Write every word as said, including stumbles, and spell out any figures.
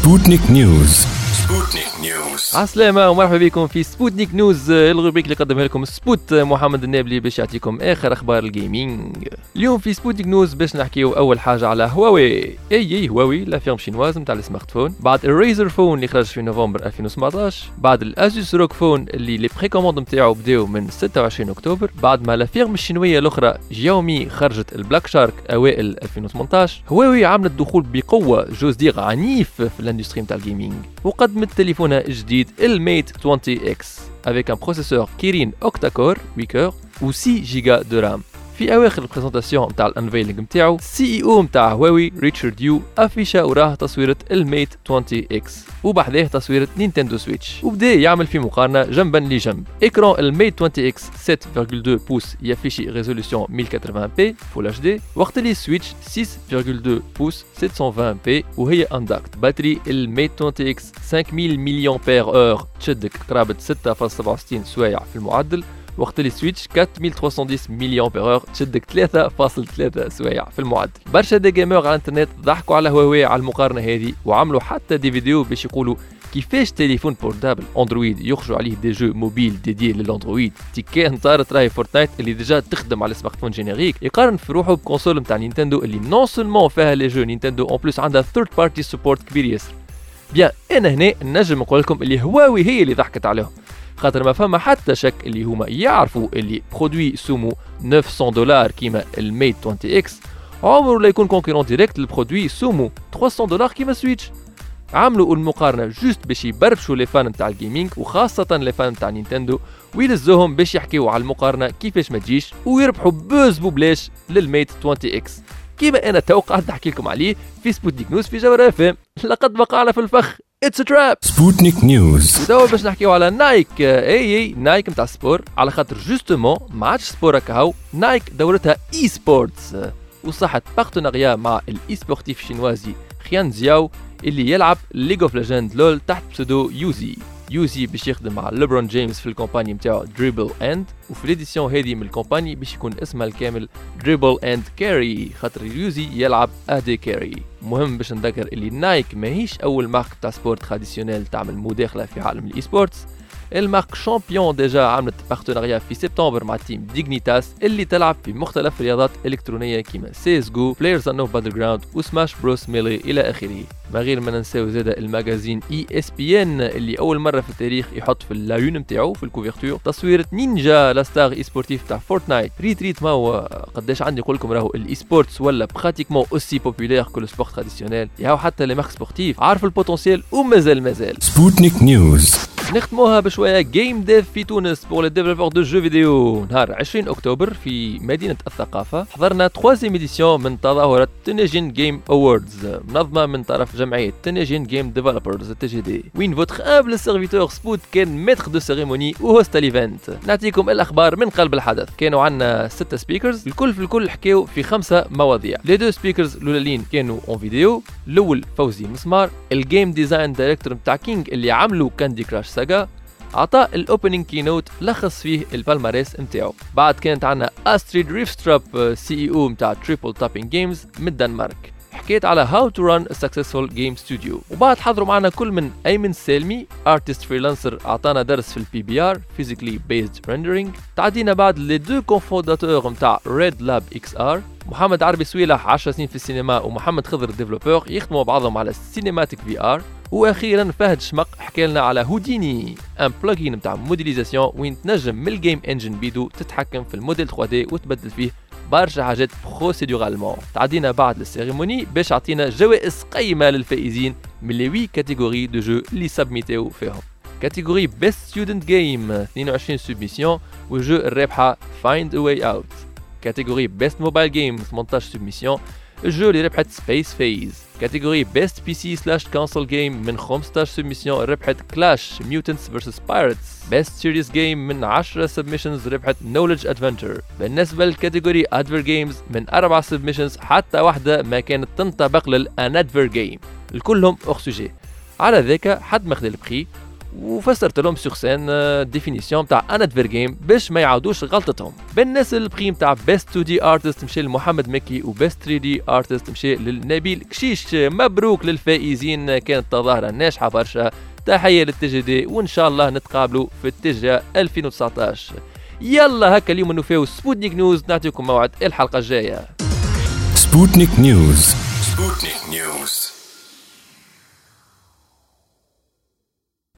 سبوتنيك نيوز. سبوتنيك نيوز. عسلامة ومرحبا بكم في سبوتنيك نيوز، الروبريك اللي قدمها لكم سبوت محمد النابلي باش يعطيكم اخر اخبار الجيمنج. اليوم في سبوتنيك نيوز باش نحكيو اول حاجة على هواوي. اي اي هواوي لا فيرم شينواز نتاع السمارت فون، بعد الريزر فون اللي خرج في نوفمبر ألفين وسبعطاش، بعد الاسوس روك فون اللي لي بري كوموند نتاعو بداو من ستة وعشرين اكتوبر، بعد ما لا فيرم الشينوية الاخرى جيومي خرجت البلاك شارك اوائل ألفين وثمنطاش، هواوي عملت دخول بقوة جوز دير عنيف في الاندستري نتاع الجيمنج وقدمت تليفونها الجديد الميت عشرين اكس avec un processeur Kirin octa-core huit cœurs و ستة جيجا دو رام. في اواخر البرزنتاسيون نتاع الانفيلينغ نتاعو سي اي او نتاع هواوي ريتشارد يو افيشا وراه تصويره الميت عشرين اكس وبحذاه تصويره نينتندو سويتش، وبدا يعمل في مقارنه جنبا لجنب. اكران الميت عشرين اكس سبعة فاصلة اثنين بوس يافيشي ريزولوسيون مية وثمانين بي فول اتش دي، وقت اللي سويتش ستة فاصلة اثنين بوس سبعمية وعشرين بي وهي اندكت. باتري الميت عشرين اكس خمسمية مليون بير اور تشدك قرابه ستة فاصلة سبعة وستين سوايع في المعدل، وقت اللي سويتش أربعة آلاف وثلاثمية وعشرة مليون بير اور تشدك ثلاثة فاصلة ثلاثة سوايع في المعدل. برشا دي جيمر على الانترنت ضحكوا على هواوي على المقارنه هذه وعملوا حتى دي فيديو باش يقولوا كيفاش تليفون بورتابل اندرويد يخرجوا عليه دي جو موبيل ديدي للاندرويد تيكا نطارت راهي فورتنايت اللي ديجا تخدم على سمارت فون جينيريك، يقارن في روحه بكونسول نتاع نينتندو اللي نون سولمون فيها لي جو نينتندو اون بلوس عندها ثيرد بارتي سبورت كبير ياسر. بيان انا هنا نجم نقول لكم اللي هواوي هي اللي ضحكت عليهم، خاطر ما فما حتى شك اللي هما يعرفوا اللي برودوي سومو تسعمية دولار كيما الميت عشرين اكس عمره لا يكون كونكورون ديريكت للبرودوي سومو ثلاثمية دولار كيما سويتش. عملوا المقارنه جوست باش يبربشوا لي فان نتاع الجيمنج وخاصه لي فان نتاع نينتندو ويلزوهم باش يحكيوا على المقارنه كيفاش ما تجيش ويربحوا بوز ببلاش للميت عشرين اكس كيما انا توقعت نحكي لكم عليه في سبوتنيك نيوز في جوهر اف ام. لقد وقعنا في الفخ، اتس تراب. سبوتنيك نيوز. ودابا باش نحكيو على نايك. اي اي نايك نتاع السبور، على خاطر جوستومون ما عادش سبور هكاهو، نايك دورتها اي سبورتس وصحت بارتناريا مع الاي سبورتيف شينوازي خيان زياو اللي يلعب ليج اوف ليجند لول تحت بسودو يوزي. يوزي باش يخدم مع ليبرون جيمس في الكومباني نتاعو دريبل اند، وفي الاديسيون هذه من الكومباني باش يكون اسمها الكامل دريبل اند كاري خاطر يوزي يلعب ادي كاري. مهم باش نذكر اللي نايك ماهيش اول مارك تاع سبورت تراديسيونيل تعمل مداخله في عالم الاي سبورتس. المارك شامبيون ديجا عملت بارتناريا في سبتمبر مع تيم ديغنيتاس اللي تلعب في مختلف الرياضات الالكترونيه كيما سي اس جو، بلايرز انو باتل جراوند وسماش بروس ميلي الى اخره. ما غير ما ننساو زاده الماغازين اي اس بي ان اللي اول مره في التاريخ يحط في اللايون نتاعو في الكوفرتور تصويره نينجا لا ستار اي سبورتيف تاع فورتنايت. ريت ريت ما هو قداش عندي نقول لكم راهو الاي سبورتس ولا براتيكمون اوسي بوبولير كو لو سبورت تراديسيونيل، ياهو حتى لي مارك سبورتيف عارف البوتنسيال ومازال مازال. سبوتنيك نيوز. نختموها بشويه جيم ديف في تونس بور لي ديفلوبور دو جو فيديو. نهار عشرين اكتوبر في مدينه الثقافه حضرنا ثلاثيام اديسيون من تظاهره تنجين جيم اووردز منظمه من طرف جمعيه تنجين جيم ديفلوبرز تي جي دي، وين فوتر امبل سيرفيتور سبوت كان ميتر دو سيريموني وهوست الايفنت. نعطيكم الاخبار من قلب الحدث. كانوا عندنا ستة سبيكرز الكل في الكل حكاو في خمسه مواضيع. لي دو سبيكرز الاولين كانوا اون فيديو، الاول فوزي مسمار الجيم ديزاين دايركتور نتاع كينج اللي عملوا كاندي كراش ساغا، عطى الاوبننج كينوت لخص فيه البالماريس نتاعو. بعد كانت عندنا استريد ريفستراب سي اي او نتاع تريبل تابينج جيمز من الدنمارك، حكيت على هاو تو ران ا سكسسفول جيم ستوديو. وبعد حضروا معنا كل من ايمن سالمي ارتست فريلانسر عطانا درس في البي بي ار فيزيكلي بيزد ريندرينج. تعدينا بعد لي دو كونفونداتور نتاع ريد لاب اكس ار، محمد عربي سويلح عشر سنين في السينما ومحمد خضر ديفلوبور يخدموا بعضهم على السينماتيك في ار. واخيرا فهد شمق حكى لنا على هوديني ان بلugin نتاع موديليزاسيون وين تنجم من الجيم انجن بيدو تتحكم في الموديل ثري دي وتبدل فيه برشا حاجات بروسيدورالمون. تعدينا بعد للسيريموني باش عطينا جوائز قيمه للفائزين من لي وي كاتيجوري دو جو اللي سبميتيو فيهم. كاتيجوري بيست ستودنت جيم اثنين وعشرين سبميسيون والجو الرابحه فايند ا واي اوت. كاتيجوري بيست موبايل جيم ثمانية عشر سبميسيون الجو اللي ربحت سبيس فيز. كاتيجوري بيست بي سي سلاش كونسول جيم من خمسة عشر سبميسيون ربحت كلاش ميوتنتس فيرسس بايرتس. بيست سيريس جيم من عشرة سبميشنز ربحت نولج ادفنتشر. بالنسبه للكاتيجوري ادفير جيمز من أربعة سبميشنز حتى واحده ما كانت تنطبق للانادفير جيم، الكلهم اور سوجي. على ذاك حد ما خذ البخي وفسرت لهم سور سين الديفينيسيون تاع ان ادفير جيم باش ما يعاودوش غلطتهم. بالناس البريم تاع بيست تو دي ارتست مشى لمحمد مكي وبيست ثري دي ارتست مشى للنبيل كشيش. مبروك للفائزين، كانت تظاهره ناجحه برشا. تحيه للتي دي وان شاء الله نتقابلوا في التجا ألفين وتسعطاش. يلا هكا اليوم نوفيو سبوتنيك نيوز، نعطيكم موعد الحلقه الجايه. سبوتنيك نيوز. سبوتنيك نيوز.